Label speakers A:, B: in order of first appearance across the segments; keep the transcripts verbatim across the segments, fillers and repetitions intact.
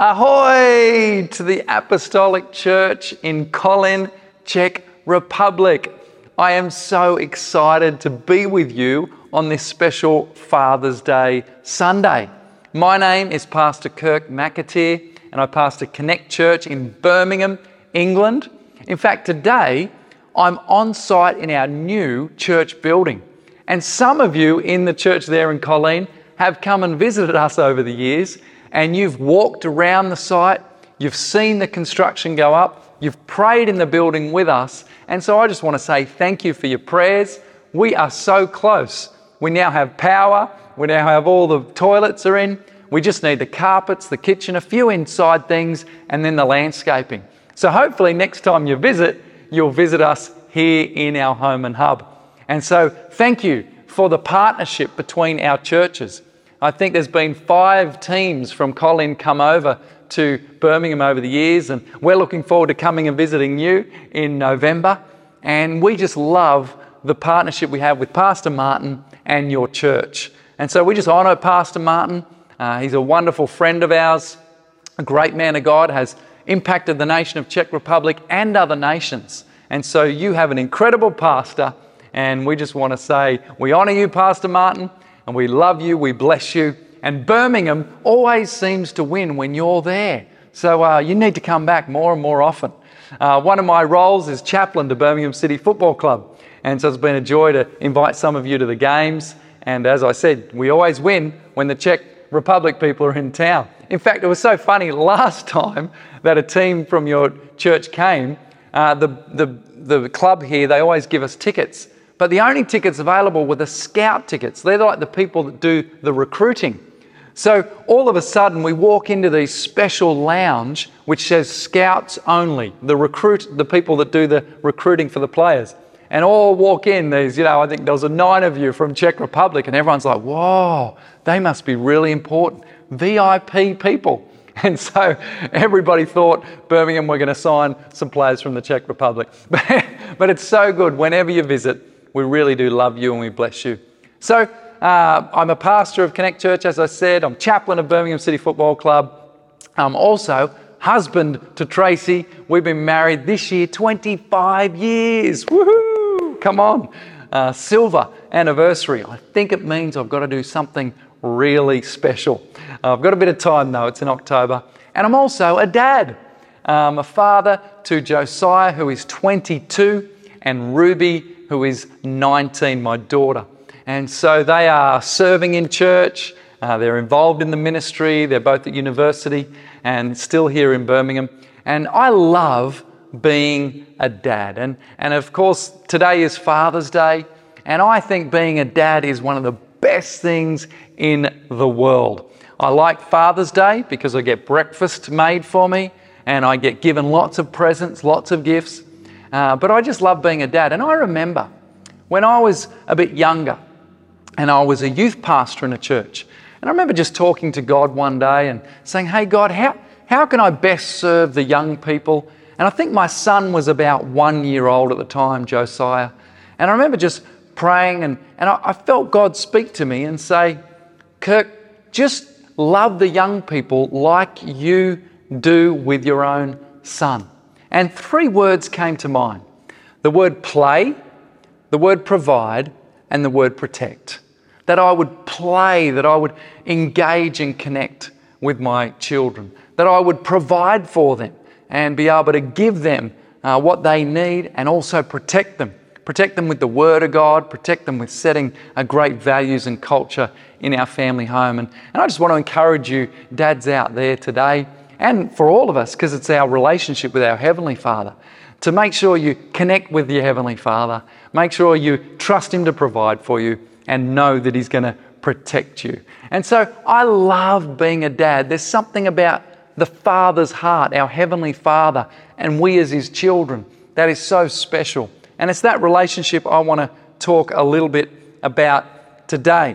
A: Ahoy to the Apostolic Church in Kolín, Czech Republic. I am so excited to be with you on this special Father's Day Sunday. My name is Pastor Kirk McAteer and I pastor Connect Church in Birmingham, England. In fact, today I'm on site in our new church building. And some of you in the church there in Kolín have come and visited us over the years, and you've walked around the site, you've seen the construction go up, you've prayed in the building with us, and so I just want to say thank you for your prayers. We are so close. We now have power, we now have all the toilets are in, we just need the carpets, the kitchen, a few inside things, and then the landscaping. So hopefully next time you visit, you'll visit us here in our home and hub. And so thank you for the partnership between our churches. I think there's been five teams from Kolín come over to Birmingham over the years, and we're looking forward to coming and visiting you in November. And we just love the partnership we have with Pastor Martin and your church. And so we just honour Pastor Martin. Uh, he's a wonderful friend of ours, a great man of God, has impacted the nation of Czech Republic and other nations. And so you have an incredible pastor, and we just want to say we honour you, Pastor Martin, and we love you, we bless you. And Birmingham always seems to win when you're there. So uh, you need to come back more and more often. Uh, one of my roles is chaplain to Birmingham City Football Club. And so it's been a joy to invite some of you to the games. And as I said, we always win when the Czech Republic people are in town. In fact, it was so funny last time that a team from your church came, uh, the, the, the club here, they always give us tickets. But the only tickets available were the scout tickets. They're like the people that do the recruiting. So all of a sudden we walk into this special lounge which says scouts only, the recruit, the people that do the recruiting for the players. And all walk in, there's, you know, I think there was a nine of you from Czech Republic, and everyone's like, whoa, they must be really important. V I P people. And so everybody thought Birmingham were going to sign some players from the Czech Republic. But it's so good whenever you visit. We really do love you and we bless you. So uh, I'm a pastor of Connect Church, as I said. I'm chaplain of Birmingham City Football Club. I'm also husband to Tracy. We've been married this year twenty-five years. Woohoo! Come on. Uh, silver anniversary. I think it means I've got to do something really special. Uh, I've got a bit of time though. It's in October. And I'm also a dad. I'm a father to Josiah, who is twenty-two, and Ruby, who is nineteen, my daughter. And so they are serving in church, uh, they're involved in the ministry, they're both at university and still here in Birmingham. And I love being a dad. And, and of course, today is Father's Day, and I think being a dad is one of the best things in the world. I like Father's Day because I get breakfast made for me, and I get given lots of presents, lots of gifts. Uh, but I just love being a dad. And I remember when I was a bit younger and I was a youth pastor in a church, and I remember just talking to God one day and saying, hey God, how, how can I best serve the young people? And I think my son was about one year old at the time, Josiah. And I remember just praying and, and I, I felt God speak to me and say, Kirk, just love the young people like you do with your own son. And three words came to mind. The word play, the word provide, and the word protect. That I would play, that I would engage and connect with my children. That I would provide for them and be able to give them uh, what they need and also protect them. Protect them with the Word of God, protect them with setting a great values and culture in our family home. And, and I just want to encourage you, dads out there today, and for all of us, because it's our relationship with our Heavenly Father, to make sure you connect with your Heavenly Father, make sure you trust Him to provide for you and know that He's going to protect you. And so I love being a dad. There's something about the Father's heart, our Heavenly Father, and we as His children, that is so special. And it's that relationship I want to talk a little bit about today.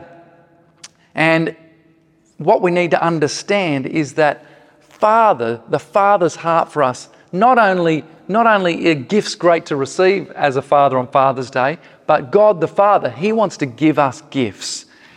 A: And what we need to understand is that Father, the Father's heart for us, not only, not only are gifts great to receive as a father on Father's Day, but God the Father, He wants to give us gifts.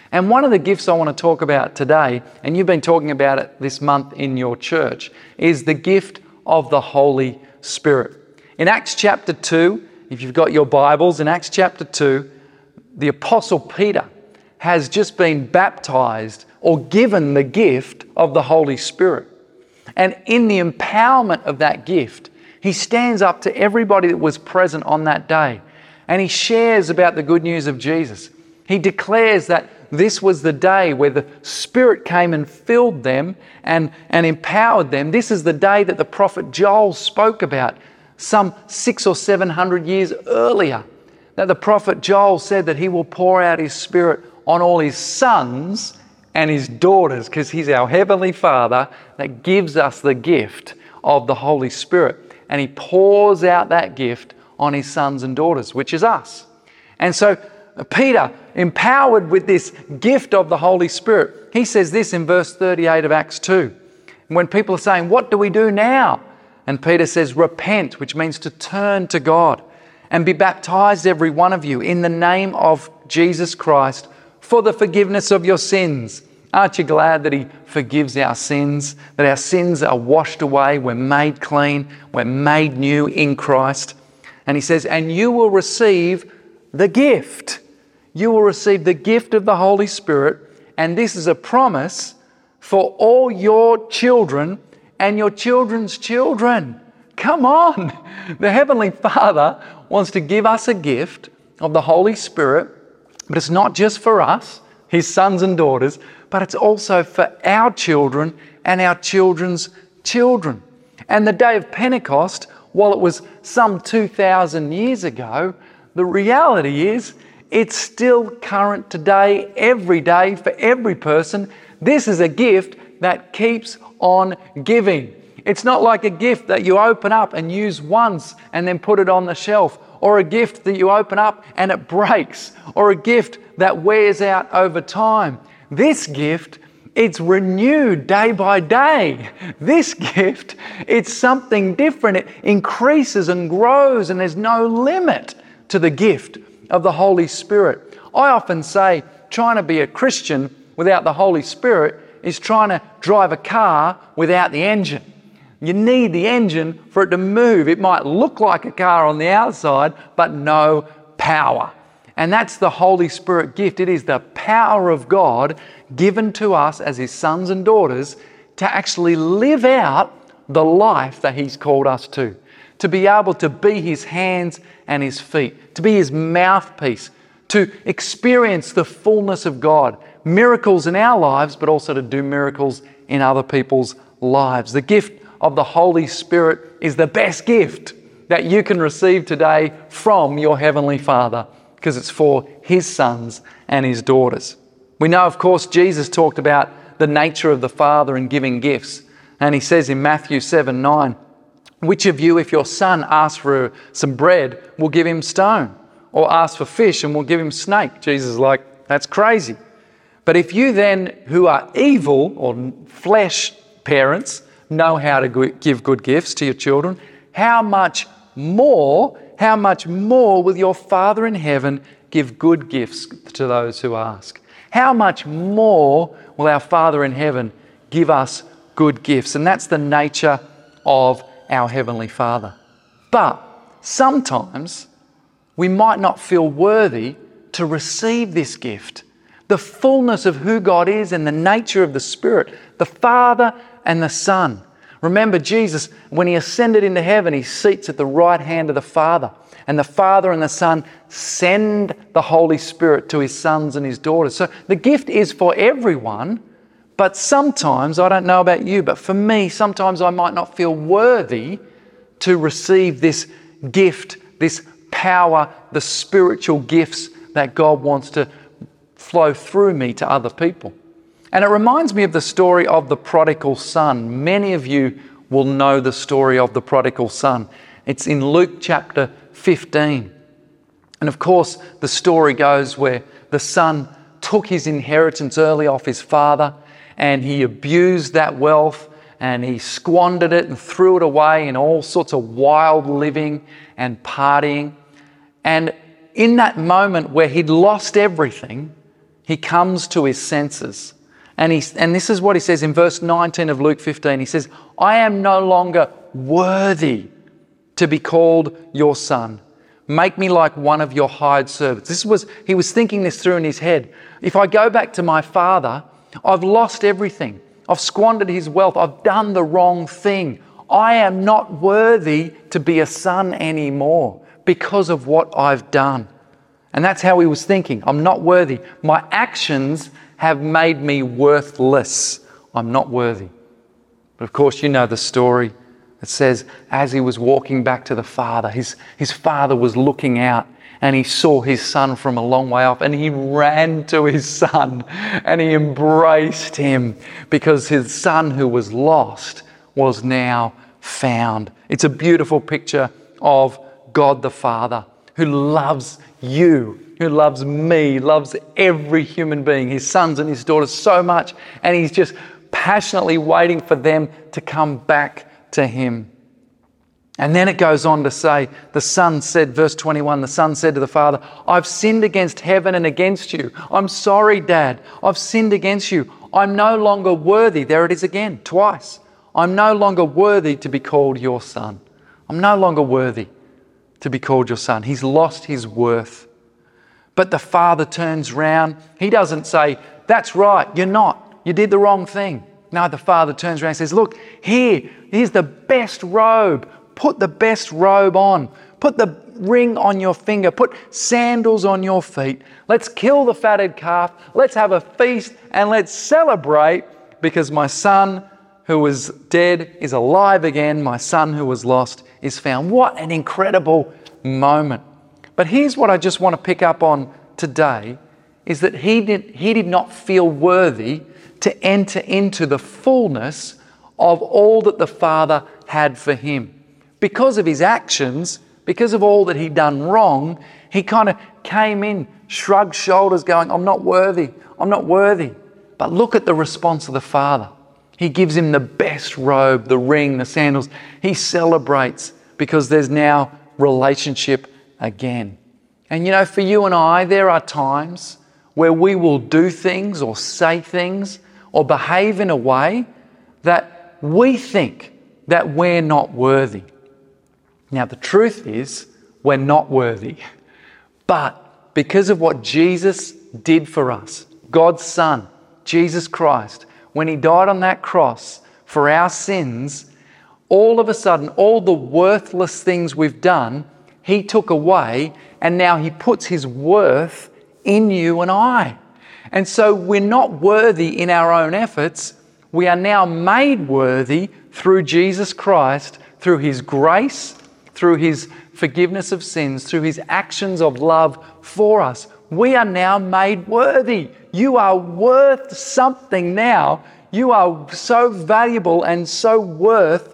A: And one of the gifts I want to talk about today, and you've been talking about it this month in your church, is the gift of the Holy Spirit. In Acts chapter two, if you've got your Bibles, in Acts chapter two, the Apostle Peter has just been baptized or given the gift of the Holy Spirit. And in the empowerment of that gift, he stands up to everybody that was present on that day and he shares about the good news of Jesus. He declares that this was the day where the Spirit came and filled them and, and empowered them. This is the day that the prophet Joel spoke about some six or seven hundred years earlier. That the prophet Joel said that he will pour out his Spirit on all his sons and his daughters, because he's our Heavenly Father that gives us the gift of the Holy Spirit. And he pours out that gift on his sons and daughters, which is us. And so Peter, empowered with this gift of the Holy Spirit, he says this in verse thirty-eight of Acts two. When people are saying, what do we do now? And Peter says, repent, which means to turn to God, and be baptized, every one of you, in the name of Jesus Christ for the forgiveness of your sins. Aren't you glad that he forgives our sins, that our sins are washed away, we're made clean, we're made new in Christ? And he says, and you will receive the gift. You will receive the gift of the Holy Spirit, and this is a promise for all your children and your children's children. Come on! The Heavenly Father wants to give us a gift of the Holy Spirit, but it's not just for us, his sons and daughters, but it's also for our children and our children's children. And the day of Pentecost, while it was some two thousand years ago, the reality is it's still current today, every day, for every person. This is a gift that keeps on giving. It's not like a gift that you open up and use once and then put it on the shelf, or a gift that you open up and it breaks, or a gift that wears out over time. This gift, it's renewed day by day. This gift, it's something different. It increases and grows, and there's no limit to the gift of the Holy Spirit. I often say trying to be a Christian without the Holy Spirit is trying to drive a car without the engine. You need the engine for it to move. It might look like a car on the outside, but no power. And that's the Holy Spirit gift. It is the power of God given to us as his sons and daughters to actually live out the life that he's called us to. To be able to be his hands and his feet, to be his mouthpiece, to experience the fullness of God, miracles in our lives, but also to do miracles in other people's lives. The gift of the Holy Spirit is the best gift that you can receive today from your Heavenly Father, because it's for his sons and his daughters. We know, of course, Jesus talked about the nature of the Father in giving gifts. And he says in Matthew seven nine, which of you, if your son asks for some bread, will give him stone? Or asks for fish and will give him snake? Jesus is like, that's crazy. But if you then, who are evil or flesh parents, know how to give good gifts to your children, how much more, how much more will your Father in heaven give good gifts to those who ask? How much more will our Father in heaven give us good gifts? And that's the nature of our Heavenly Father. But sometimes we might not feel worthy to receive this gift. The fullness of who God is and the nature of the Spirit, the Father and the Son. Remember Jesus, when he ascended into heaven, he seats at the right hand of the Father. And the Father and the Son send the Holy Spirit to his sons and his daughters. So the gift is for everyone, but sometimes, I don't know about you, but for me, sometimes I might not feel worthy to receive this gift, this power, the spiritual gifts that God wants to flow through me to other people. And it reminds me of the story of the prodigal son. Many of you will know the story of the prodigal son. It's in Luke chapter fifteen. And of course, the story goes where the son took his inheritance early off his father, and he abused that wealth, and he squandered it and threw it away in all sorts of wild living and partying. And in that moment where he'd lost everything, he comes to his senses. And, he, and this is what he says in verse nineteen of Luke fifteen. He says, I am no longer worthy to be called your son. Make me like one of your hired servants. This was, he was thinking this through in his head. If I go back to my father, I've lost everything. I've squandered his wealth. I've done the wrong thing. I am not worthy to be a son anymore because of what I've done. And that's how he was thinking. I'm not worthy. My actions have made me worthless. I'm not worthy. But of course, you know the story. It says, as he was walking back to the father, his, his father was looking out and he saw his son from a long way off and he ran to his son and he embraced him because his son who was lost was now found. It's a beautiful picture of God the Father who loves you, who loves me, loves every human being, his sons and his daughters so much, and he's just passionately waiting for them to come back to him. And then it goes on to say, the son said, verse twenty-one, the son said to the father, I've sinned against heaven and against you. I'm sorry, Dad. I've sinned against you. I'm no longer worthy. There it is again, twice. I'm no longer worthy to be called your son. I'm no longer worthy to be called your son. He's lost his worth. But the father turns round. He doesn't say, that's right, you're not. You did the wrong thing. No, the father turns around and says, look, here, here's the best robe. Put the best robe on. Put the ring on your finger. Put sandals on your feet. Let's kill the fatted calf. Let's have a feast and let's celebrate because my son who was dead is alive again. My son who was lost is found. What an incredible moment. But here's what I just want to pick up on today is that he did, he did not feel worthy to enter into the fullness of all that the Father had for him. Because of his actions, because of all that he'd done wrong, he kind of came in, shrugged shoulders going, I'm not worthy, I'm not worthy. But look at the response of the Father. He gives him the best robe, the ring, the sandals. He celebrates because there's now relationship again. And you know, for you and I, there are times where we will do things or say things or behave in a way that we think that we're not worthy. Now, the truth is, we're not worthy. But because of what Jesus did for us, God's Son, Jesus Christ, when He died on that cross for our sins, all of a sudden, all the worthless things we've done, He took away, and now He puts His worth in you and I. And so we're not worthy in our own efforts. We are now made worthy through Jesus Christ, through His grace, through His forgiveness of sins, through His actions of love for us. We are now made worthy. You are worth something now. You are so valuable and so worth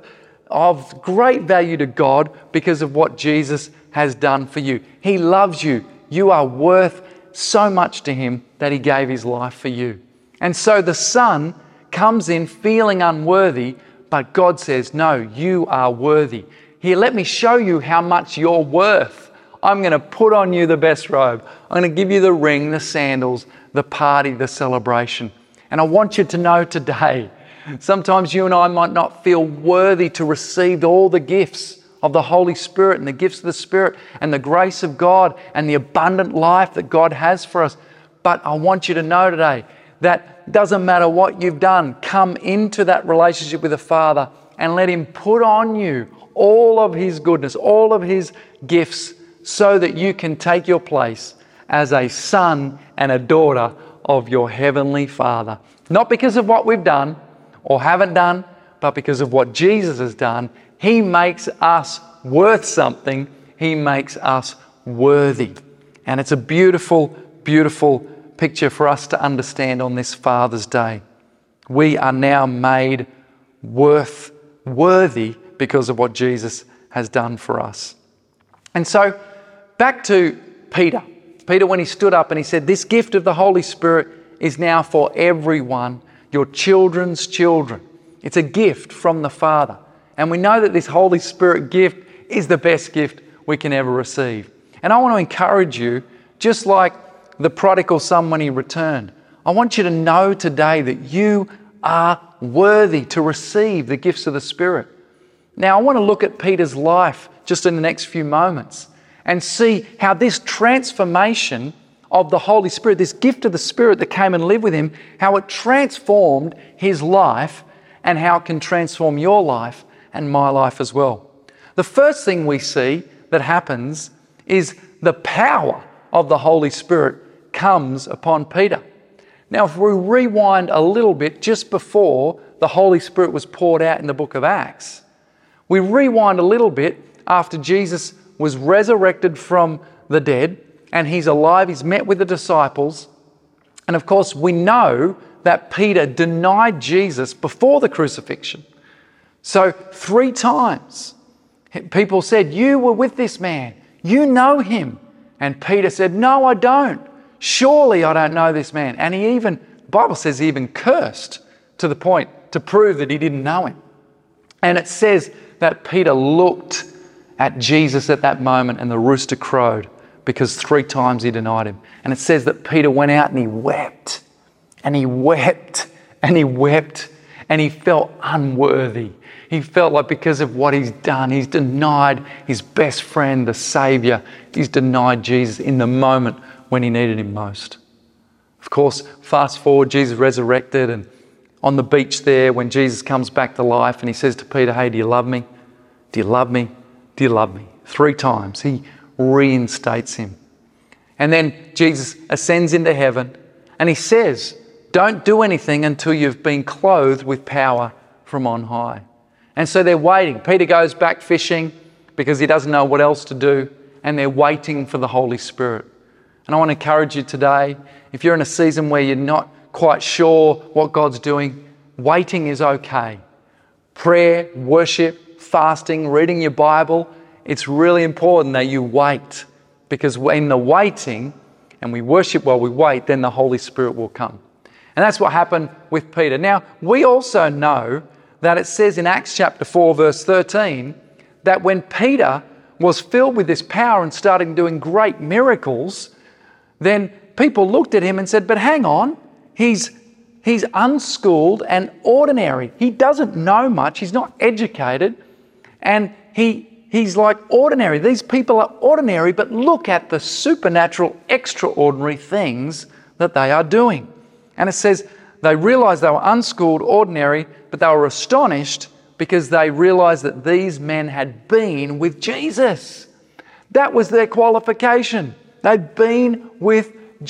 A: of great value to God because of what Jesus has done for you. He loves you. You are worth so much to Him that He gave His life for you. And so the Son comes in feeling unworthy, but God says, no, you are worthy. Here, let me show you how much you're worth. I'm going to put on you the best robe. I'm going to give you the ring, the sandals, the party, the celebration. And I want you to know today, sometimes you and I might not feel worthy to receive all the gifts of the Holy Spirit and the gifts of the Spirit and the grace of God and the abundant life that God has for us. But I want you to know today that doesn't matter what you've done, come into that relationship with the Father and let Him put on you all of His goodness, all of His gifts, so that you can take your place as a son and a daughter of your Heavenly Father. Not because of what we've done or haven't done, but because of what Jesus has done. He makes us worth something. He makes us worthy. And it's a beautiful, beautiful picture for us to understand on this Father's Day. We are now made worth, worthy because of what Jesus has done for us. And so, back to Peter. Peter, when he stood up and he said, this gift of the Holy Spirit is now for everyone, your children's children. It's a gift from the Father. And we know that this Holy Spirit gift is the best gift we can ever receive. And I want to encourage you, just like the prodigal son when he returned. I want you to know today that you are worthy to receive the gifts of the Spirit. Now, I want to look at Peter's life just in the next few moments and see how this transformation of the Holy Spirit, this gift of the Spirit that came and lived with him, how it transformed his life and how it can transform your life and my life as well. The first thing we see that happens is the power of the Holy Spirit comes upon Peter. Now, if we rewind a little bit just before the Holy Spirit was poured out in the book of Acts, we rewind a little bit after Jesus was resurrected from the dead and he's alive, he's met with the disciples. And of course, we know that Peter denied Jesus before the crucifixion. So three times people said, "You were with this man, you know him." And Peter said, "No, I don't. Surely I don't know this man." And he even, the Bible says he even cursed to the point to prove that he didn't know him. And it says that Peter looked at Jesus at that moment and the rooster crowed because three times he denied him. And it says that Peter went out and he wept and he wept and he wept and he felt unworthy. He felt like because of what he's done, he's denied his best friend, the Saviour. He's denied Jesus in the moment when he needed him most. Of course, fast forward, Jesus resurrected, and on the beach there when Jesus comes back to life and he says to Peter, "Hey, do you love me? Do you love me? Do you love me?" Three times he reinstates him. And then Jesus ascends into heaven and he says, "Don't do anything until you've been clothed with power from on high." And so they're waiting. Peter goes back fishing because he doesn't know what else to do, and they're waiting for the Holy Spirit. And I want to encourage you today, if you're in a season where you're not quite sure what God's doing, waiting is okay. Prayer, worship, fasting, reading your Bible, it's really important that you wait, because in the waiting, and we worship while we wait, then the Holy Spirit will come. And that's what happened with Peter. Now, we also know that it says in Acts chapter four, verse thirteen, that when Peter was filled with this power and started doing great miracles, then people looked at him and said, "But hang on, he's he's unschooled and ordinary. He doesn't know much. He's not educated. And he he's like ordinary. These people are ordinary, but look at the supernatural, extraordinary things that they are doing." And it says they realized they were unschooled, ordinary, but they were astonished because they realized that these men had been with Jesus. That was their qualification. They'd been with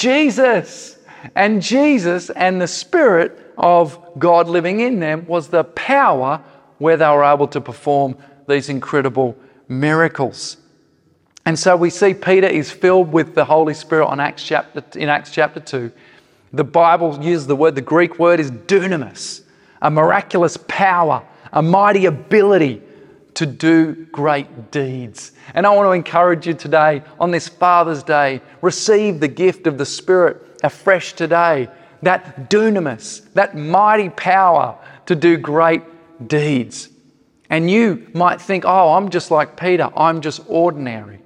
A: Jesus. And Jesus and the Spirit of God living in them was the power where they were able to perform these incredible miracles. And so we see Peter is filled with the Holy Spirit on Acts chapter, in Acts chapter two. The Bible uses the word, the Greek word is dunamis, a miraculous power, a mighty ability to do great deeds. And I want to encourage you today on this Father's Day, receive the gift of the Spirit afresh today, that dunamis, that mighty power to do great deeds. And you might think, "Oh, I'm just like Peter, I'm just ordinary.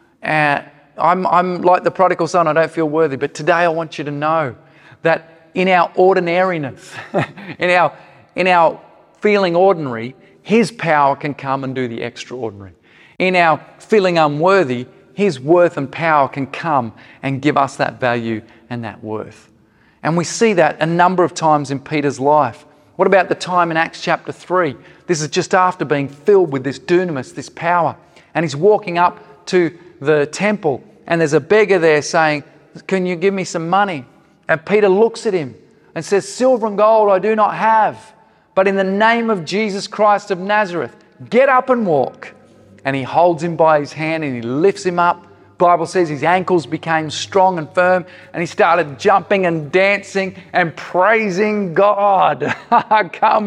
A: And I'm, I'm like the prodigal son, I don't feel worthy." But today I want you to know that in our ordinariness, in our, in our feeling ordinary, His power can come and do the extraordinary. In our feeling unworthy, His worth and power can come and give us that value and that worth. And we see that a number of times in Peter's life. What about the time in Acts chapter three? This is just after being filled with this dunamis, this power. And he's walking up to the temple and there's a beggar there saying, "Can you give me some money?" And Peter looks at him and says, "Silver and gold I do not have, but in the name of Jesus Christ of Nazareth, get up and walk." And he holds him by his hand and he lifts him up. The Bible says his ankles became strong and firm and he started jumping and dancing and praising God. Come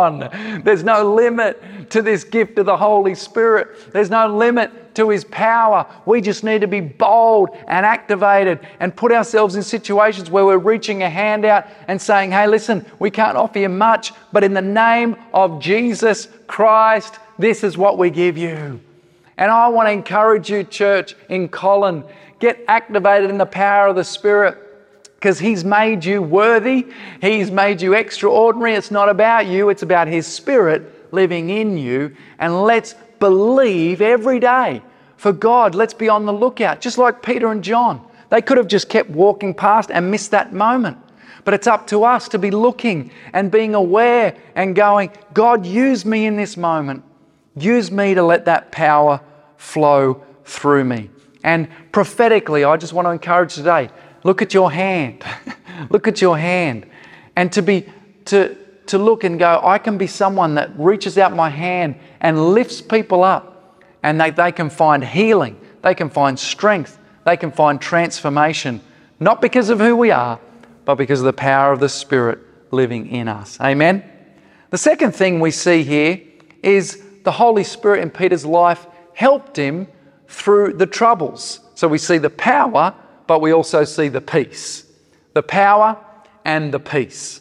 A: on. There's no limit to this gift of the Holy Spirit. There's no limit to His power. We just need to be bold and activated and put ourselves in situations where we're reaching a hand out and saying, "Hey, listen, we can't offer you much, but in the name of Jesus Christ, this is what we give you." And I want to encourage you, church, in Colin, Get activated in the power of the Spirit, because He's made you worthy. He's made you extraordinary. It's not about you. It's about His Spirit living in you. And let's believe every day for God. Let's be on the lookout. Just like Peter and John. They could have just kept walking past and missed that moment. But it's up to us to be looking and being aware and going, God, use me in this moment. Use me to let that power flow through me. And prophetically, I just want to encourage today, look at your hand. Look at your hand. And to be to to look and go, I can be someone that reaches out my hand and lifts people up, and they, they can find healing, they can find strength, they can find transformation, not because of who we are, but because of the power of the Spirit living in us. Amen? The second thing we see here is the Holy Spirit in Peter's life helped him through the troubles. So we see the power, but we also see the peace. The power and the peace.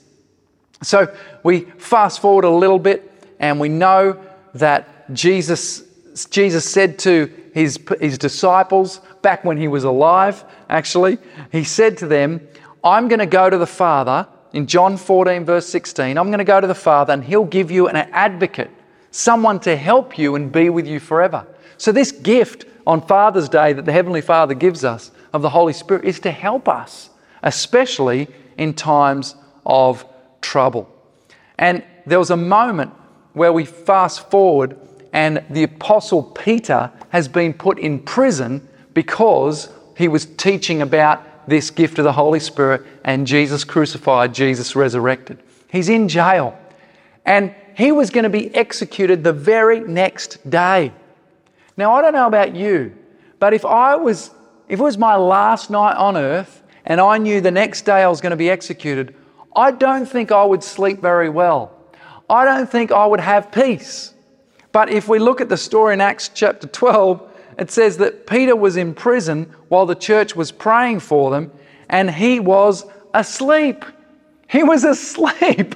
A: So we fast forward a little bit, and we know that Jesus, Jesus said to his, his disciples, back when He was alive, actually, He said to them, I'm going to go to the Father, in John fourteen, verse sixteen, I'm going to go to the Father and He'll give you an advocate, someone to help you and be with you forever. So this gift on Father's Day that the Heavenly Father gives us of the Holy Spirit is to help us, especially in times of trouble. And there was a moment where we fast forward and the Apostle Peter has been put in prison because he was teaching about this gift of the Holy Spirit and Jesus crucified, Jesus resurrected. He's in jail and he was going to be executed the very next day. Now, I don't know about you, but if I was, if it was my last night on earth and I knew the next day I was going to be executed, I don't think I would sleep very well. I don't think I would have peace. But if we look at the story in Acts chapter twelve, it says that Peter was in prison while the church was praying for them, and he was asleep. He was asleep.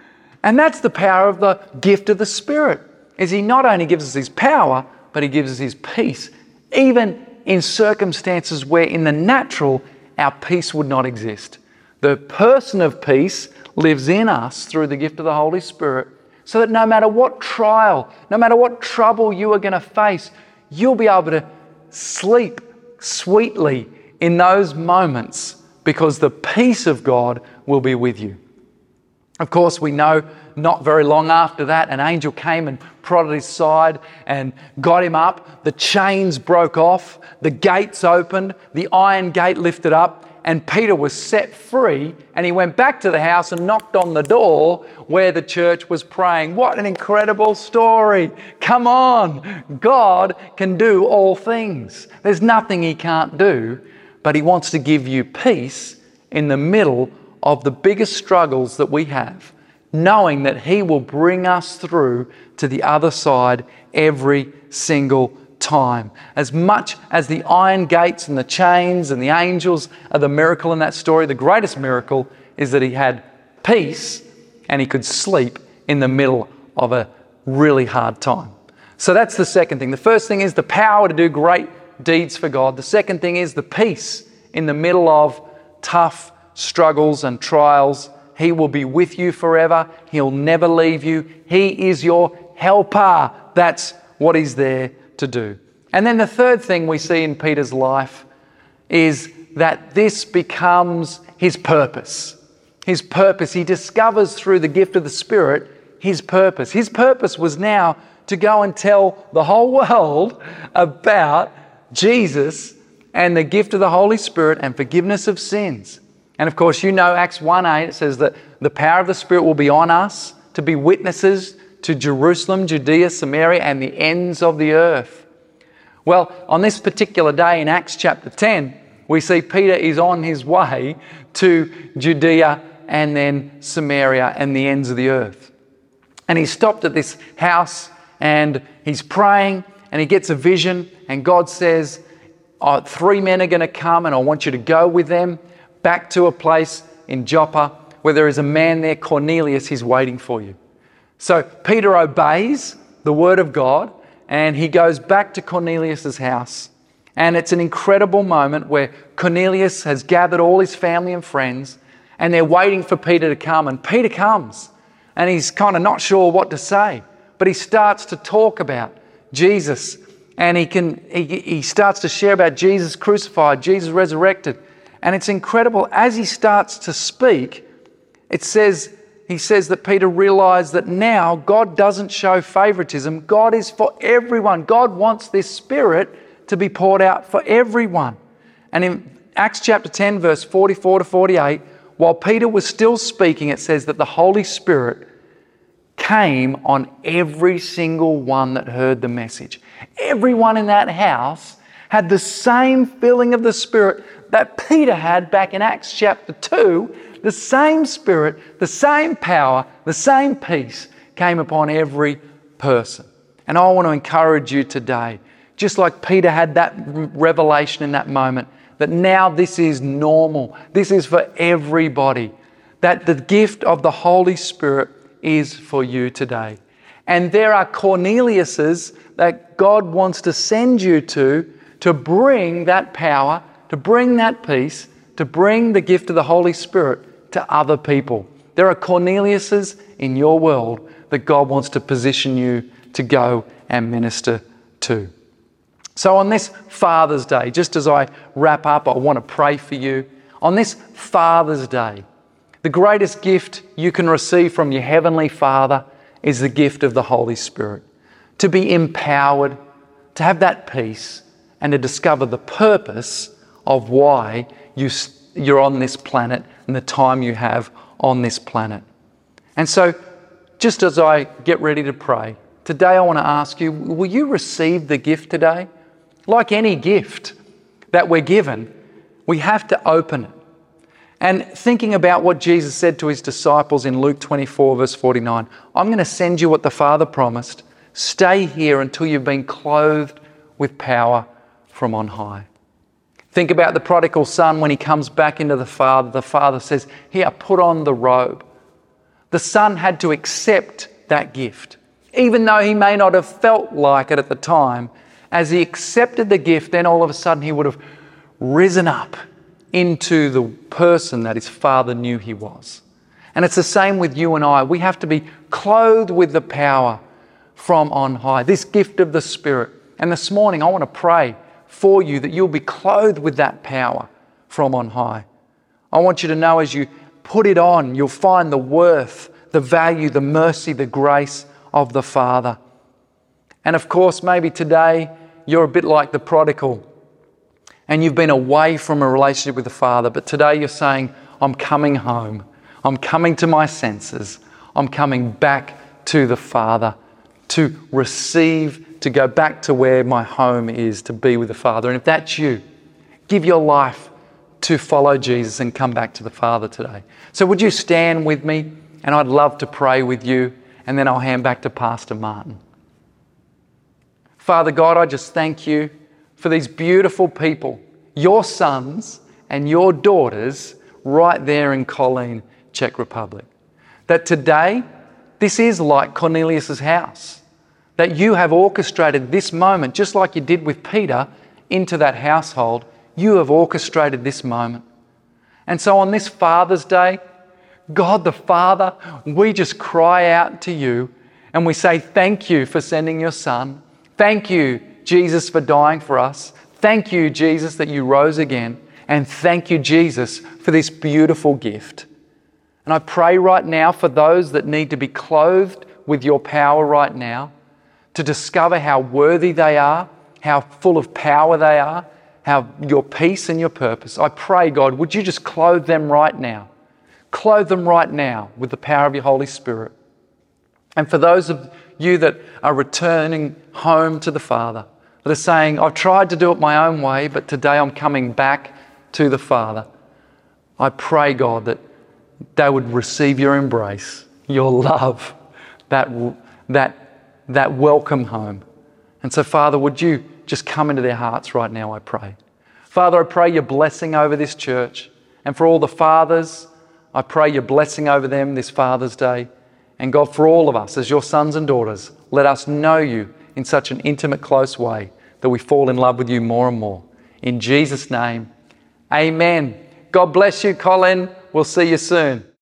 A: And that's the power of the gift of the Spirit, is He not only gives us His power, but He gives us His peace, even in circumstances where in the natural our peace would not exist. The person of peace lives in us through the gift of the Holy Spirit, so that no matter what trial, no matter what trouble you are going to face, you'll be able to sleep sweetly in those moments because the peace of God will be with you. Of course, we know not very long after that, an angel came and prodded his side and got him up. The chains broke off, the gates opened, the iron gate lifted up, and Peter was set free, and he went back to the house and knocked on the door where the church was praying. What an incredible story. Come on. God can do all things. There's nothing He can't do, but He wants to give you peace in the middle of the biggest struggles that we have, knowing that He will bring us through to the other side every single time. As much as the iron gates and the chains and the angels are the miracle in that story, the greatest miracle is that he had peace and he could sleep in the middle of a really hard time. So that's the second thing. The first thing is the power to do great deeds for God. The second thing is the peace in the middle of tough struggles and trials. He will be with you forever. He'll never leave you. He is your helper. That's what He's there to do. And then the third thing we see in Peter's life is that this becomes his purpose. His purpose. He discovers through the gift of the Spirit his purpose. His purpose was now to go and tell the whole world about Jesus and the gift of the Holy Spirit and forgiveness of sins. And of course, you know Acts one eight, it says that the power of the Spirit will be on us to be witnesses to Jerusalem, Judea, Samaria, and the ends of the earth. Well, on this particular day in Acts chapter ten, we see Peter is on his way to Judea and then Samaria and the ends of the earth. And he stopped at this house and he's praying and he gets a vision and God says, oh, three men are going to come and I want you to go with them back to a place in Joppa where there is a man there, Cornelius, he's waiting for you. So Peter obeys the word of God and he goes back to Cornelius' house And it's an incredible moment where Cornelius has gathered all his family and friends, and they're waiting for Peter to come. And Peter comes, and he's kind of not sure what to say, but he starts to talk about Jesus, and he can he, he starts to share about Jesus crucified, Jesus resurrected. And it's incredible. As he starts to speak, it says, he says that Peter realized that now God doesn't show favoritism. God is for everyone. God wants this Spirit to be poured out for everyone. And in Acts chapter ten, verse forty-four to forty-eight, while Peter was still speaking, it says that the Holy Spirit came on every single one that heard the message. Everyone in that house had the same filling of the Spirit that Peter had back in Acts chapter two. The same Spirit, the same power, the same peace came upon every person. And I want to encourage you today, just like Peter had that revelation in that moment, that now this is normal. This is for everybody. That the gift of the Holy Spirit is for you today. And there are Corneliuses that God wants to send you to, to bring that power, to bring that peace, to bring the gift of the Holy Spirit to other people. There are Corneliuses in your world that God wants to position you to go and minister to. So on this Father's Day, just as I wrap up, I want to pray for you. On this Father's Day, the greatest gift you can receive from your Heavenly Father is the gift of the Holy Spirit. To be empowered, to have that peace, and to discover the purpose of why you, you're on this planet and the time you have on this planet. And so, just as I get ready to pray, today I want to ask you, will you receive the gift today? Like any gift that we're given, we have to open it. And thinking about what Jesus said to his disciples in Luke twenty-four, verse forty-nine, I'm going to send you what the Father promised. Stay here until you've been clothed with power from on high. Think about the prodigal son when he comes back into the Father. The Father says, here, put on the robe. The son had to accept that gift. Even though he may not have felt like it at the time, as he accepted the gift, then all of a sudden he would have risen up into the person that his Father knew he was. And it's the same with you and I. We have to be clothed with the power from on high, this gift of the Spirit. And this morning I want to pray for you that you'll be clothed with that power from on high. I want you to know as you put it on, you'll find the worth, the value, the mercy, the grace of the Father. And of course, maybe today you're a bit like the prodigal and you've been away from a relationship with the Father, but today you're saying, I'm coming home. I'm coming to my senses. I'm coming back to the Father to receive, to go back to where my home is, to be with the Father. And if that's you, give your life to follow Jesus and come back to the Father today. So would you stand with me? And I'd love to pray with you, and then I'll hand back to Pastor Martin. Father God, I just thank you for these beautiful people, your sons and your daughters right there in Colleen, Czech Republic. That today, this is like Cornelius' house. That you have orchestrated this moment, just like you did with Peter, into that household. You have orchestrated this moment. And so on this Father's Day, God the Father, we just cry out to you and we say thank you for sending your Son. Thank you, Jesus, for dying for us. Thank you, Jesus, that you rose again. And thank you, Jesus, for this beautiful gift. And I pray right now for those that need to be clothed with your power right now, to discover how worthy they are, how full of power they are, how your peace and your purpose. I pray, God, would you just clothe them right now? Clothe them right now with the power of your Holy Spirit. And for those of you that are returning home to the Father, that are saying, I've tried to do it my own way, but today I'm coming back to the Father. I pray, God, that they would receive your embrace, your love, that, that, that welcome home. And so, Father, would you just come into their hearts right now, I pray. Father, I pray your blessing over this church. And for all the fathers, I pray your blessing over them this Father's Day. And God, for all of us as your sons and daughters, let us know you in such an intimate, close way that we fall in love with you more and more. In Jesus' name, amen. God bless you, Colin. We'll see you soon.